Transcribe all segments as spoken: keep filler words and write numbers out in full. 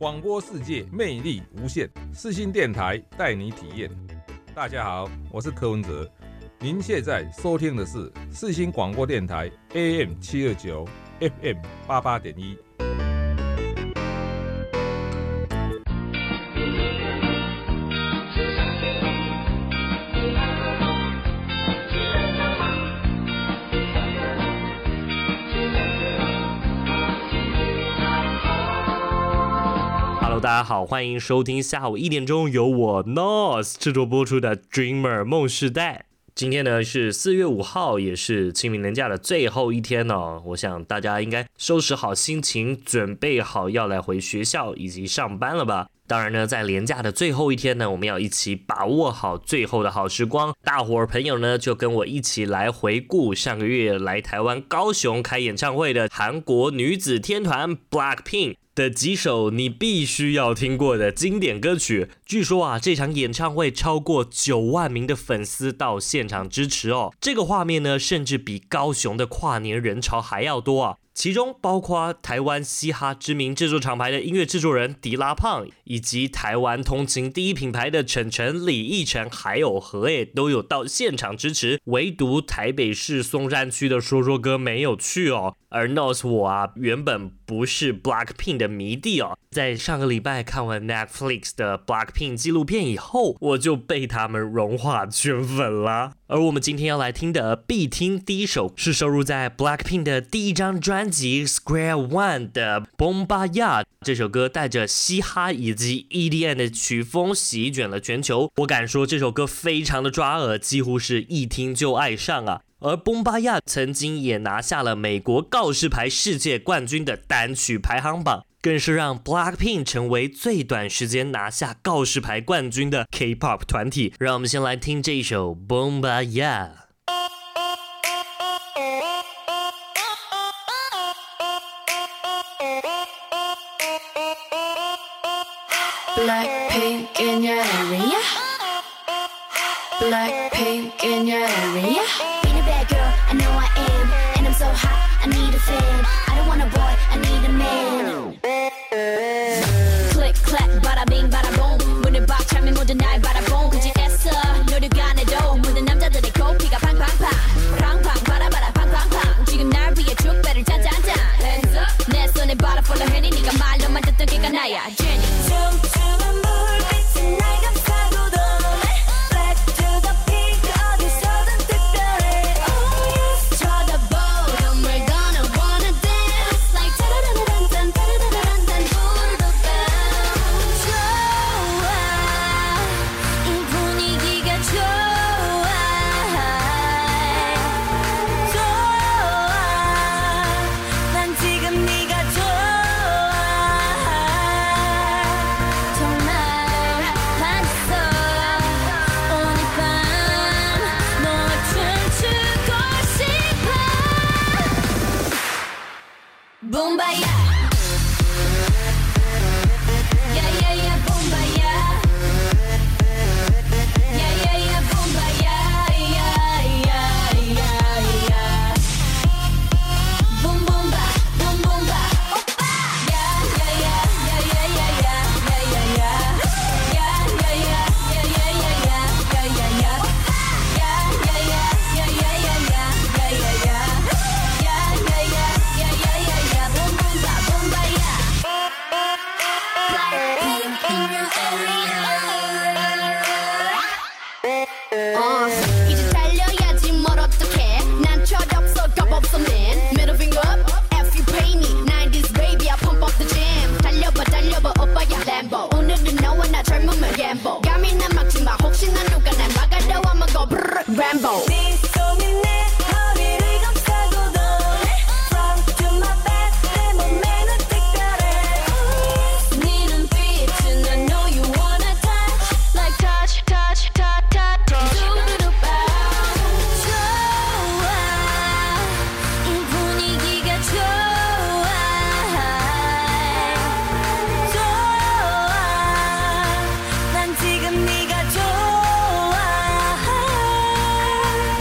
廣播世界魅力無限，世新電台帶你體驗。大家好，我是柯文哲，您現在收聽的是世新廣播電台 A M 七二九 F M 八八點一。 大家好，歡迎收聽下午一點鐘由我 N O S 製作播出的 Dreamer 夢時代。今天呢是四月五號，也是清明連假的最後一天哦。我想大家應該收拾好心情，準備好要來回學校以及上班了吧。當然呢，在連假的最後一天呢，我們要一起把握好最後的好時光。大夥兒朋友呢，就跟我一起來回顧上個月來台灣高雄開演唱會的韓國女子天團 Blackpink的幾首你必須要聽過的經典歌曲。據說啊，這場演唱會超過九萬名的粉絲到現場支持哦。這個畫面呢，甚至比高雄的跨年人潮還要多啊。其中包括台灣嘻哈知名製作廠牌的音樂製作人迪拉胖，以及台灣通勤第一品牌的晨晨、李奕晨還有何誒都有到現場支持，唯獨台北市松山區的說說哥沒有去哦。而 N O S 我啊，原本不是 Blackpink 的迷弟哦，在上個禮拜看完 Netflix 的 Blackpink 紀錄片以後，我就被他們融化圈粉了。而我們今天要來聽的必聽第一首，是收錄在 Blackpink 的第一張專輯 Square One 的 Bombayah。這首歌帶着嘻哈以及 E D M 的曲風席捲了全球，我敢說這首歌非常的抓耳，幾乎是一聽就愛上啊。而 Bombayah 曾經也拿下了美國告示牌世界冠軍的單曲排行榜，更是讓 Blackpink 成為最短時間拿下告示牌冠軍的 K-pop 團體。讓我們先來聽這一首 Bombayah。Blackpink in your area. Blackpink in your area. Being a bad girl, I know I am, and I'm so hot, I need a fan. I don't want a boy, I need a man. Click clap, bada bing, bada boom. 문을 박차면 모두 날 바라본 굳이 애써 노력 안 해도 모든 남자들의 코피가 팡팡팡, 팡팡, 바라바라 팡팡팡. 지금 날 위해 축배를 짠짠짠. Hands up, 내 손에 바라 follow 해니 네가 말로만 듣던 걔가 나야, Jenny. 춤추는 불빛이 날 감싸고 도네. Back to the peak, 어디서든 특별해. Oh yes, 쳐다보, we're gonna wanna dance like 따라라란딴 따라라란딴 불도 bounce. 좋아, 이 분위기가 좋아. 좋아, 난 지금 네가 좋아. 정말 반했어. 오늘 밤 너와 춤추고 싶어. Bombayah. Yeah, yeah, yeah, Bombayah. Yeah, yeah, yeah, Bombayah. Yeah, yeah, yeah, yeah. Boom, boom, ba, boom, boom, ba. Oppa. Yeah, yeah, yeah, yeah, yeah, yeah, yeah, yeah, yeah. Yeah, yeah, yeah, yeah, yeah, yeah, yeah, yeah, yeah, yeah. Oppa. Yeah, yeah, yeah, yeah, yeah, yeah, yeah, yeah, yeah, yeah. Yeah, yeah, yeah, yeah, yeah, yeah, yeah. Boom, boom, ba, Bombayah. Blackpink in your area. Uh, 이제 달려야지 뭘 어떡해. 난 철없어 겁없어 man. Middle finger up, F you pay me. nineties baby I pump up the jam. 달려봐 달려봐 오빠야 Lambo. 오늘은 너와 나 젊으면 gamble. 감이나 막지마 혹시나 누가 날 막아도 I'ma go brrr Rambo. 네 손이 내 허리를 감싸고 도네. Front to my back 내 몸매는 특별해. 네 눈빛은 I know you wanna touch. Like touch touch touch touch touch. 두루루 bounce. 좋아, 이 분위기가 좋아. 좋아, 난 지금 네가 좋아.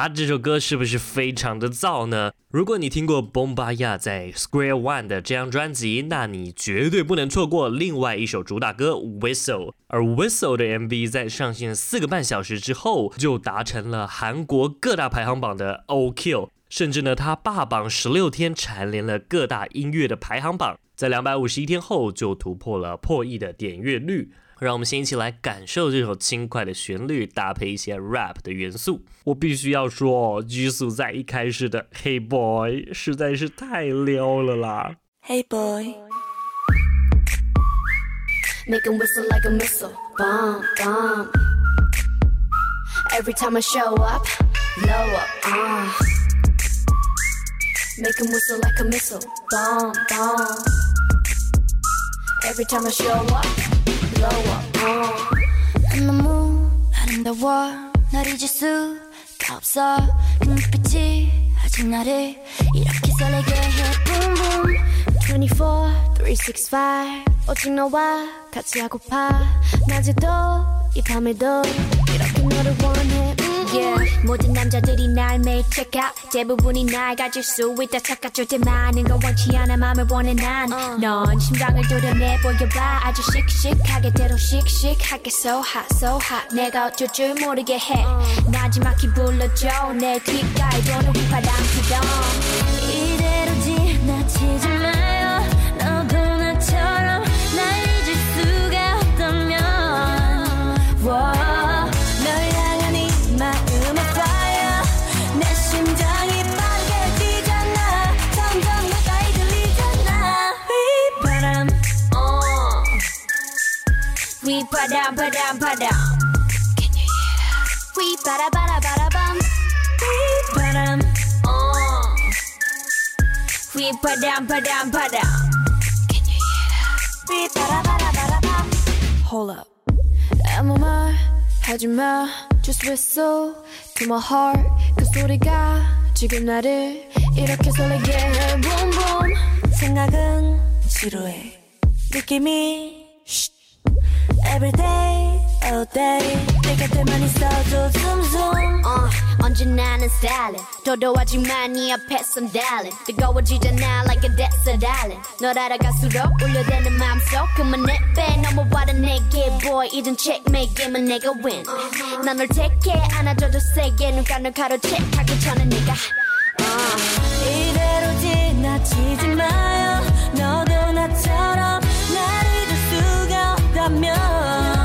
啊，這首歌是不是非常的燥呢？如果你聽過 Bombayah 在 Square One 的這張專輯，那你絕對不能錯過另外一首主打歌 Whistle。而 Whistle 的 M V 在上線四個半小時之後，就達成了韓國各大排行榜的 All Kill， 甚至呢，它霸榜十六天，蟬聯了各大音樂的排行榜，在兩百五十一天後就突破了破億的點閱率。讓我們先一起來感受這首輕快的旋律，搭配一些 rap 的元素。我必須要說，Jisoo在一開始的 Hey Boy 實在是太撩了啦。 Hey boy, make him whistle like a missile, bomb, bomb. Every time I show up, blow up, uh. Make him whistle like a missile, bomb, bomb. Every time I show up.blow up, uh. 너무 아름다워 널 잊을 수가 없어 그 눈빛이 아직 나를 이렇게 설레게 해 Boom boom twenty-four, three sixty-five 오직 너와 같이 하고파 낮에도 이 밤에도 이렇게 너를 원해 Yeah, 모든 남자들이 날 매일 check out 대부분이 날 가질 수 있다 착각 절대 많은 건 원치 않아 맘을 원해 난 넌 심장을 도려내 보여봐 아주 씩씩하게 대로 씩씩하게 So hot, so hot 내가 어쩔 줄 모르게 해 나지막히 불러줘 내 귓가에 도는 휘파람 피던 이대로 지나치지 마요 너도 나처럼 날 잊을 수가 없다면 Whoa. We padam padam padam. Can you hear that? We bada bada bada bum. We padam. Oh. We padam padam padam. Can you hear that? We bada bada bada bum. Hold up. 아무 말 하지 마. Just whistle to my heart. 그 소리가 지금 나를 이렇게 설레게 해. Boom boom. 생각은 지루해. 느낌이. Every day, all day 내 곁에만 있어도 zoom zoom uh, 언제나는 styling 도도하지만 네 앞에선 darling 뜨거워지잖아 like a desert island 널 알아갈수록 울려대는 마음속 그만 내빼 넘어와라 내게 boy 이젠 checkmate 게임은 내가 win 난 널 택해 안아줘도 세게 눈 감는 가로채 하기 전에 네가 uh. 이대로 지나치지 마요 너도 나처럼 날 잊을 수가 없다면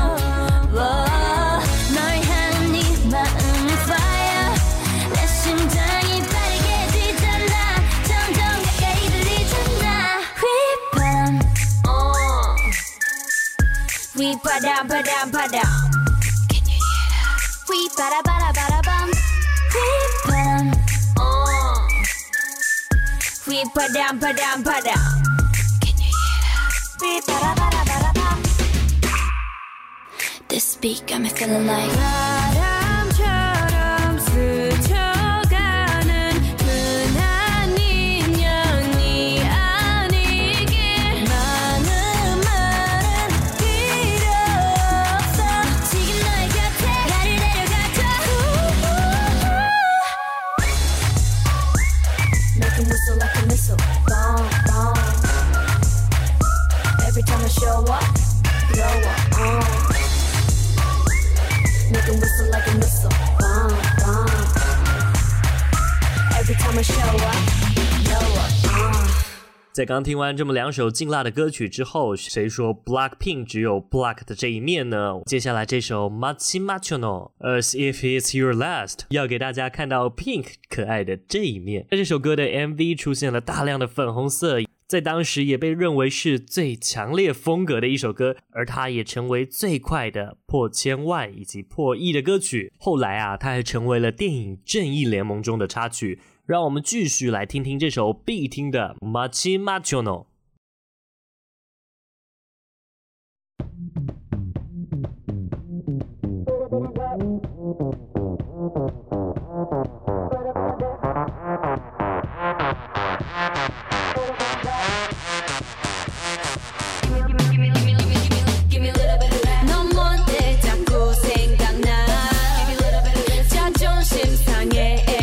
We padam padam padam. Can you hear that? We bada bada bada bum. We padam. Oh. We padam padam padam. Can you hear that? We bada bada bada bum. This beat got me feeling like 바람처럼 스쳐가는 흔한 인연이 아니길 많은 말은 필요 없어 지금 너의 곁에 나를 데려가줘 Make him whistle like a missile Bomb, bomb Every time I show up Blow up, uh. Make him whistle like a missile Bomb, bomb Every time I show up Blow up, uh. 在剛聽完這麼兩首勁辣的歌曲之後，誰說 Blackpink 只有 Black 的這一面呢？接下來這首 Machi Machono As If It's Your Last 要給大家看到 Pink 可愛的這一面。在這首歌的 M V 出現了大量的粉紅色，在當時也被認為是最強烈風格的一首歌，而它也成為最快的破千萬以及破億的歌曲。後來啊，它還成為了電影《正義聯盟》中的插曲。讓我們繼續來聽聽這首必聽的 Machi Machono。 넌 뭔데 자꾸 생각나 자존심 상해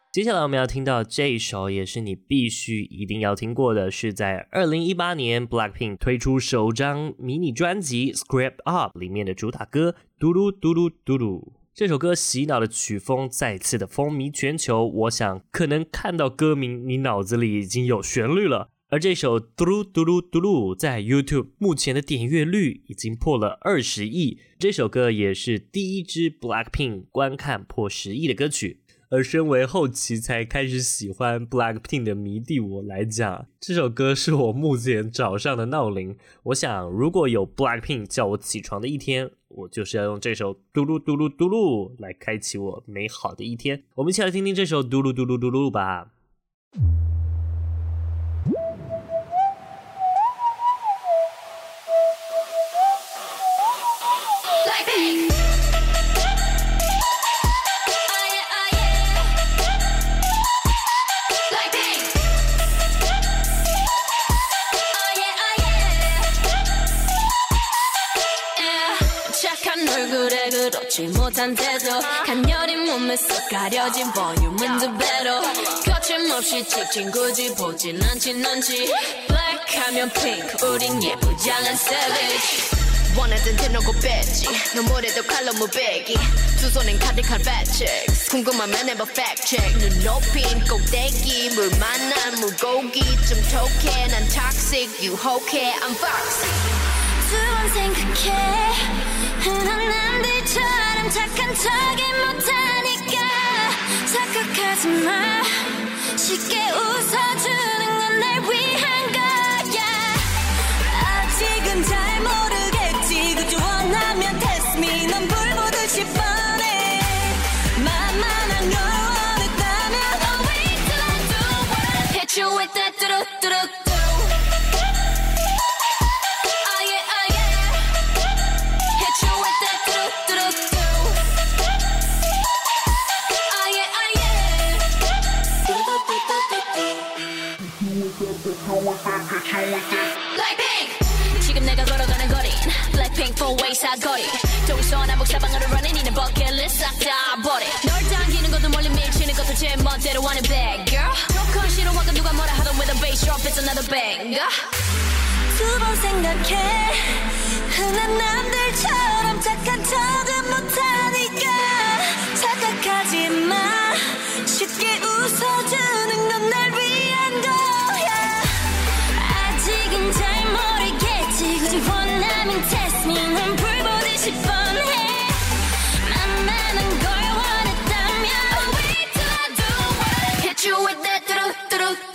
接下來我們要聽到這一首也是你必須一定要聽過的，是在二零一八年 Blackpink 推出首張迷你專輯 Script Up 裡面的主打歌嘟嚕嘟嚕嘟嚕。這首歌洗腦的曲風再次的風靡全球，我想可能看到歌名你腦子裡已經有旋律了。而這首嘟嚕嘟嚕嘟嚕在 YouTube 目前的點閱率已經破了二十億，這首歌也是第一支 Blackpink 觀看破十億的歌曲。而身為後期才開始喜歡 Blackpink 的迷弟我來講，這首歌是我目前早上的鬧鈴。我想如果有 Blackpink 叫我起床的一天，我就是要用這首嘟嚕嘟嚕嘟嚕來開啟我美好的一天。我們一起來聽聽這首嘟嚕嘟嚕嘟嚕吧。 그렇지 못한 태도 간녀린 몸에서 가려진 볼륨은 두 배로 거침없이 찍힌 굳이 보진 않지 넌지 Black 하면 pink 우린 예쁘장한 savage 원하던 대놓고 뺐지 너무래도 칼로 무배기 두 손엔 카드칼 배치ks 궁금하면 해봐 fact check 눈 높인 꼭대기 물 만난 물고기 좀 톡해 난 toxic 유혹해 I'm foxy 두 번 생각해 흔한 남들처럼 착한 척이 못하니까 착각하지 마 쉽게 웃어주는 건 날 위한 거야 아직은 잘 모르겠지 그저 원하면 test me 넌 불 보듯이 뻔해 만만한 걸 원했다면 I'll wait till I do what I hit you with that 뚜루뚜루 Blackpink 지금 내가 걸어가는 거린 Blackpink four-way 사거리 동서남북 사방으로 running 이는 버킷리스트 싹 다 버려 널 당기는 것도 멀리 밀치는 것도 제 멋대로 하는 bad girl 조금 싫어하고 누가 뭐라 하던 with a bass drop it's another banger 두 번 생각해 흔한 남들처럼 착한 척은 못하니까 착각하지 마 쉽게 웃어주는 건 날 위한 거야 아직은 잘 모르겠지 굳이 원하면 test me 넌 불 보듯이 뻔해 만만한 걸 원했다면 I'll wait till I do what I hit you with that 뚜루뚜루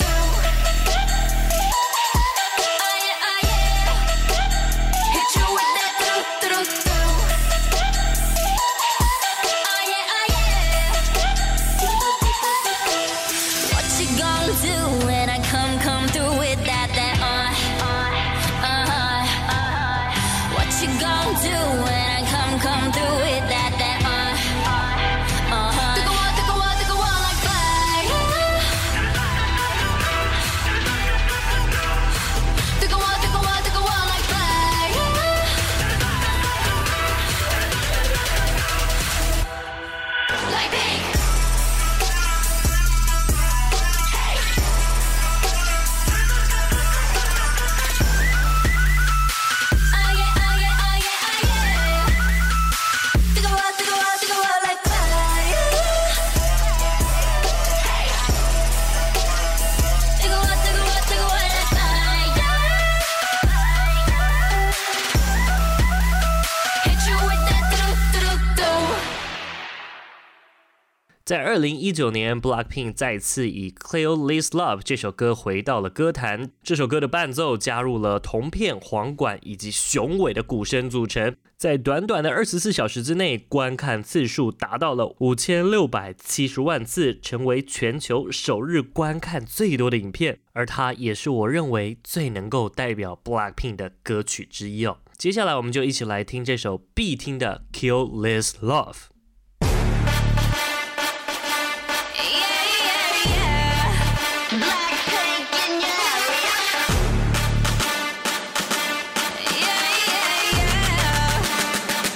在二零一九年 Blackpink 再次以 Cleo This Love 這首歌回到了歌壇，這首歌的伴奏加入了銅片、簧管以及雄偉的鼓聲組成，在短短的二十四小時之內，觀看次數達到了五千六百七十萬次，成為全球首日觀看最多的影片，而它也是我認為最能夠代表 Blackpink 的歌曲之一哦。接下來我們就一起來聽這首必聽的 Kill This Love。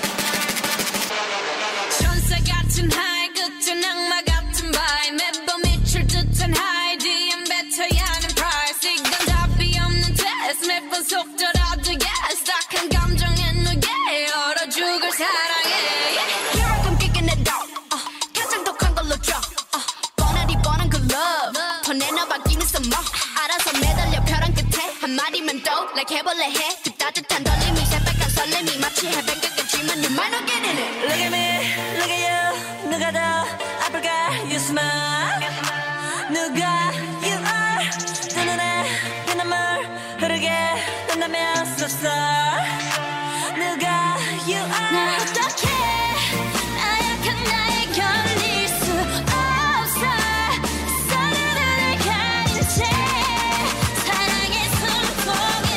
천사 같은 하이 끝은 악마 같은 바이 매번 like 해볼래 해 좀 따뜻한 떨림이 새빨간 설렘이 마치 해변가겠지만 you might not get in it. Look at me, look at you. 누가 더 아플까? You smile. 누가 you are. 두 눈에 피눈물 흐르게 된다면 so sorry. 누가 you are. 나 어떡해 나약한 나에 견딜 수 없어 서로를 가린 채 사랑의 숨통을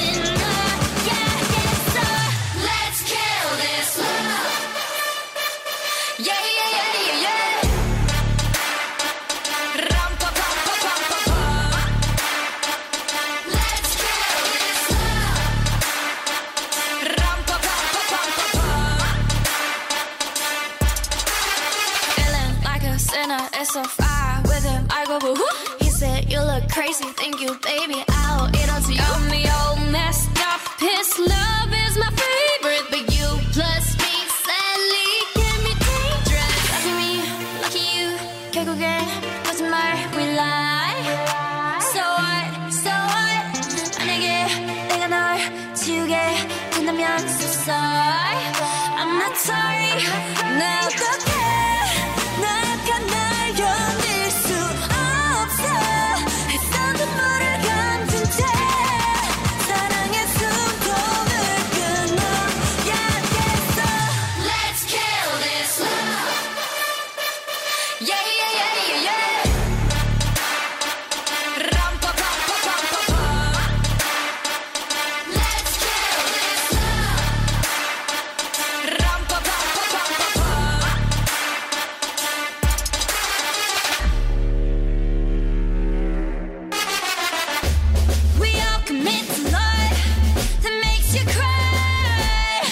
끊어야겠어. Let's kill this love. Yeah yeah yeah yeah yeah. Ram pa pa pa pa pa pa. Let's kill this love. Ram pa pa pa pa pa pa. Feeling like a sinner, it's so far with him. I go woo. He said you look crazy, thank you, baby. I'll eat onto you. Got me all messed up. His love is my favorite, but you plus me sadly can be dangerous. Lucky me, lucky you. 결국엔 거짓말 we lie. So what, so what. 만약에 내가 널 지우게 된다면 so sorry. I'm not sorry. 나 어떡해 나약한 날 견딜 수 없어. 했던 눈물을 감춘 채 사랑의 숨통을 끊어야겠어. Let's kill this love. Yeah yeah yeah yeah yeah. Ram pa pa pa pa pa pa. Let's kill this love. Ram pa pa pa pa pa pa. We all commit to love that makes you cry.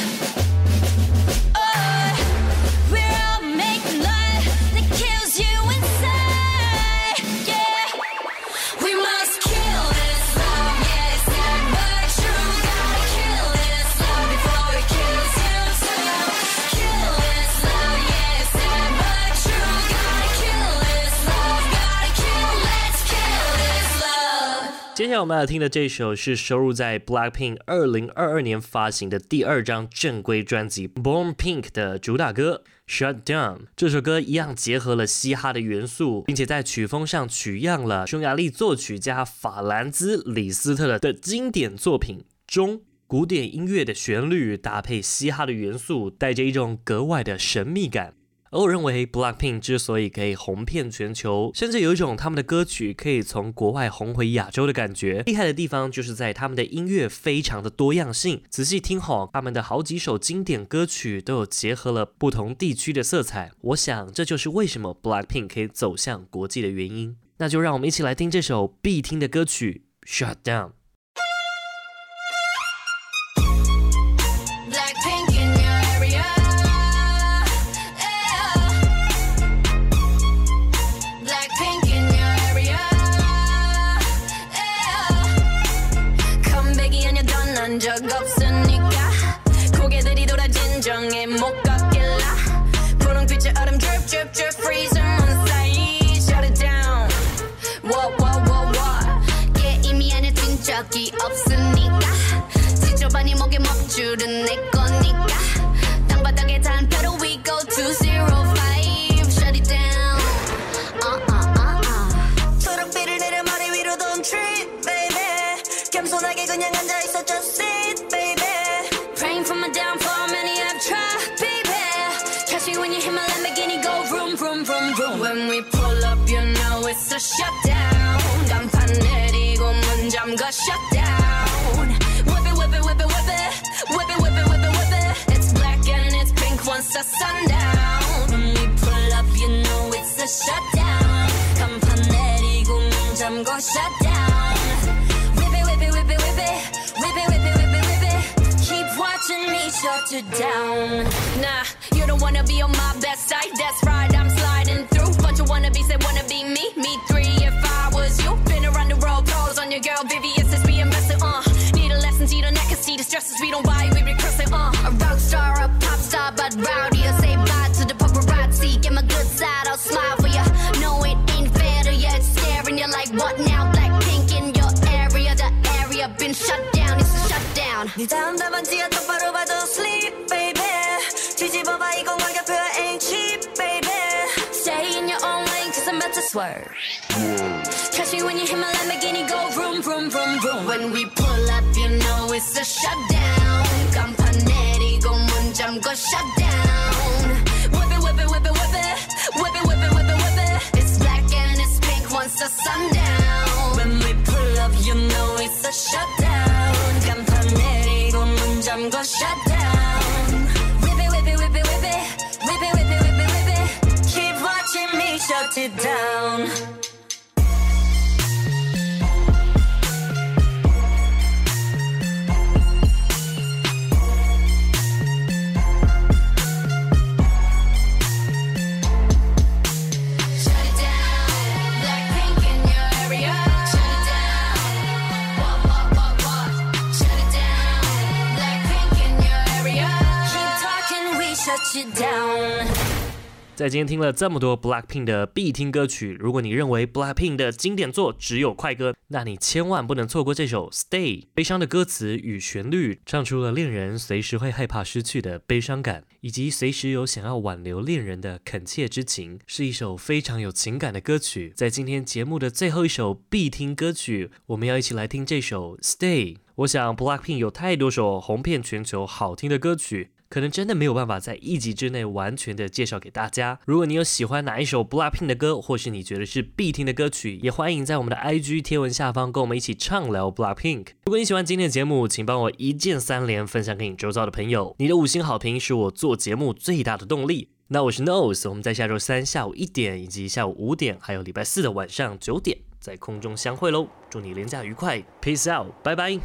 Oh, we're all making love that kills you inside. Yeah, we must kill this love. Yeah, it's sad but true. Gotta kill this love before it kills you too. Kill this love. Yeah, it's sad but true. Gotta kill this love. Gotta kill. Let's kill this love. 接下来我们要听的这首是收录在 Blackpink 二零二二年发行的第二张正规专辑 Born Pink 的主打歌 Shut Down。 这首歌一样結合了嘻哈的元素，並且在曲風上取樣了匈牙利作曲家法蘭茲·李斯特的經典作品中古典音樂的旋律搭配嘻哈的元素，帶着一種格外的神秘感。而我認為 Blackpink 之所以可以紅遍全球，甚至有一種他們的歌曲可以從國外紅回亞洲的感覺，厲害的地方就是在他們的音樂非常的多樣性。仔細聽好，他們的好幾首經典歌曲都有結合了不同地區的色彩，我想這就是為什麼 Blackpink 可以走向國際的原因。那就讓我們一起來聽這首必聽的歌曲 Shut Down。 Blackpink in your area. Blackpink in your area. 컴백이 아니야 떠난 적 없으니까 고개들이 돌아 진정에 못 걷길라 분홍빛의 얼음 drip drip drip freezing on side. Shut it down. Whoa whoa whoa whoa. 게임이 아니야 뛴 적이 없으니까 지저분이 목에 먹줄은 내 거니까 땅바닥에 단표로 we go to zero five. Shut it down. Uh uh uh uh. 초록빛을 내려 머리 위로 don't trip baby. 겸손하게 그냥 앉아있어 just sit baby. Praying for my downfall, many have tried, baby. Catch me when you hit my Lamborghini, go vroom, vroom, vroom, vroom. When we pull up, you know it's a shutdown. 간판 내리고 문 잠가 shutdown. Whip it, whip it, whip it, whip it. Whip it, whip it, whip it, whip it. It's black and it's pink once the sundown. When we pull up, you know it's a shutdown. 간판 내리고 문 잠가 shutdown. Whip it, whip it, whip it, whip it. Whip it, whip it, whip it, whip it. Keep watching me shut it down. Nah, you don't wanna be on my best side. That's right, I'm sliding through. Bunch of wannabes that wanna be me. Me three if I was you. Been around the world, pros on your girl, V V S is be invested, uh. Need a lesson, see the neck, see the stresses we don't buy, we recurse it, uh. A rock star, a pop star, but rowdy. I say bye to the paparazzi. Get my good side, I'll smile for ya. No, it ain't fair to ya, it's staring you like what now? Blackpink in your area, the area been shut down. It's 네 다음 답안지가 똑바로 봐도 sleep baby 뒤집어봐 이건 가격표야 ain't cheap baby Stay in your own lane cause I'm about to swerve Catch me when you hit my Lamborghini go vroom vroom vroom vroom When we pull up you know it's a shutdown 간판 내리고 문 잠궈 shutdown Whip it whip it whip it whip it Whip it whip it whip it whip it It's black and it's pink once the sun down When we pull up you know it's a shutdown 간판 내리고 문 잠궈 shutdown Whip it whip it whip it whip it Whip it whip it whip it whip it Keep watching me shut it down 在今天听了这么多 Blackpink 的必聽歌曲，如果你認為 Blackpink 的經典作只有快歌，那你千萬不能錯過這首 Stay。悲傷的歌詞與旋律，唱出了戀人隨時會害怕失去的悲傷感，以及隨時有想要挽留戀人的懇切之情，是一首非常有情感的歌曲。在今天節目的最後一首必聽歌曲，我們要一起來聽這首 Stay。我想 Blackpink 有太多首紅遍全球好聽的歌曲，可能真的沒有辦法在一集之內完全的介紹給大家。如果你有喜歡哪一首 Blackpink 的歌，或是你覺得是必聽的歌曲，也歡迎在我們的 I G 貼文下方跟我們一起暢聊 Blackpink。如果你喜歡今天的節目，請幫我一鍵三連分享給你周遭的朋友。你的五星好評是我做節目最大的動力。那我是 Nose， 我們在下周三下午一點，以及下午五點，還有禮拜四的晚上九點，在空中相會嘍。祝你連假愉快 ，Peace out， 拜拜。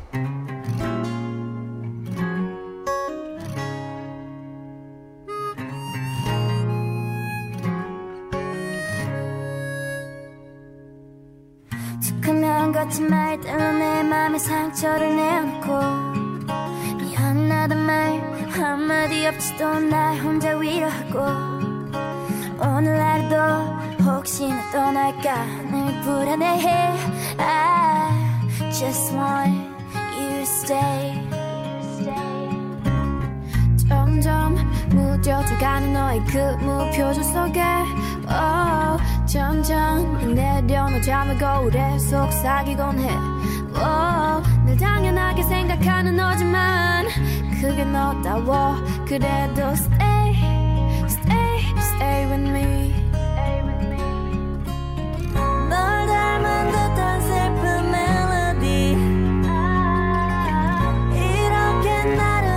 같은 말 때문에 내 맘에 상처를 내놓고 미안하단 말 한마디 없이도 날 혼자 위로하고 오늘 하루도 혹시나 떠날까 늘 불안해해 I just want you to stay 점점 무뎌져가는 너의 그 무표정 속에 oh, 천천히 내려놓자면 거울에 속삭이곤 해 oh, 늘 당연하게 생각하는 너지만 그게 너다워 그래도 stay, stay, stay with me 널 닮은 듯한 슬픈 멜로디 이렇게 나를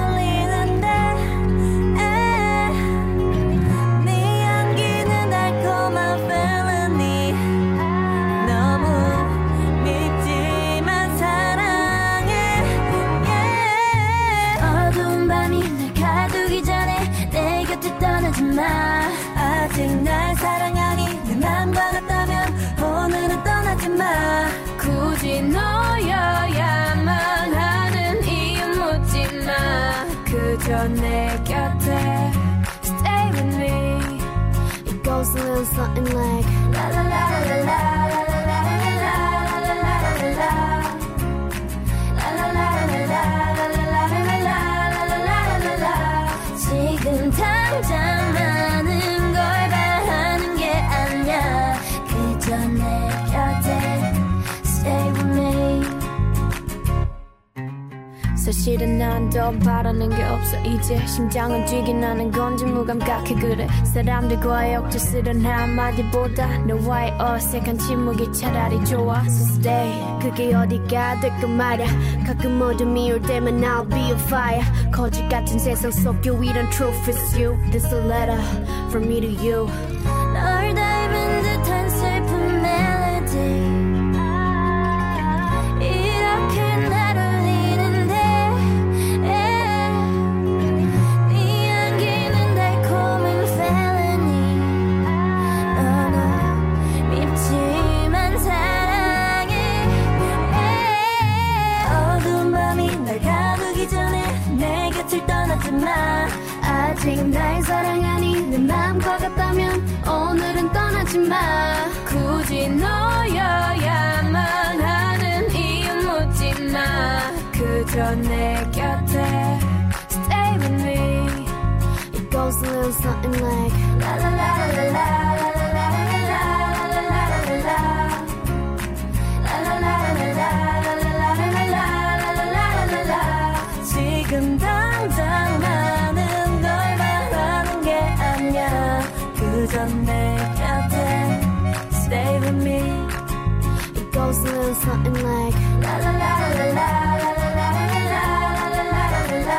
아직 날 사랑하니 내 맘과 같다면 오늘은 떠나지 마 굳이 너여야만 하는 이유 묻지 마 그저 내 곁에 Stay with me It goes a little something like La la la la la la la la la la la la la 지금 당장 많은 걸 바라는 게 아니야 그저 내 곁에 Stay with me 사실은 난 더 바라는 게 없어 이제 심장은 뛰긴 하는 건지 무감각해 그래 사람들과의 억지 쓰는 한마디보다 너와의 어색한 침묵이 차라리 좋아 So stay 그게 어디가 될까 말야 가끔 어둠이 올 때만 I'll be on fire 거짓 같은 세상 속 유일한 truth is you This a letter from me to you 널 닮은 듯한 슬픈 멜로디 이렇게 날 울리는데 네 향기는 달콤한 felony 너는 밉지만 사랑해 어두운 밤이 날 가두기 전에 내 곁을 떠나지 마 아직 날 사랑하니 내 맘과 같다면 오늘은 떠나지 마 굳이 너여야만 하는 이유 묻지 마 그저 내 곁에 sound something like la la la la la la la la la la la la la 지금 당장 많은 걸 말하는 게 아니야 그저 내 곁에 Stay with me It goes a little something like la la la la la la la la la la la la la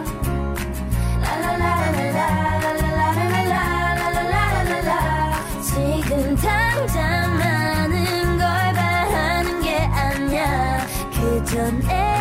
지금 당장 많은 걸 바라는 게 아니야 그저 내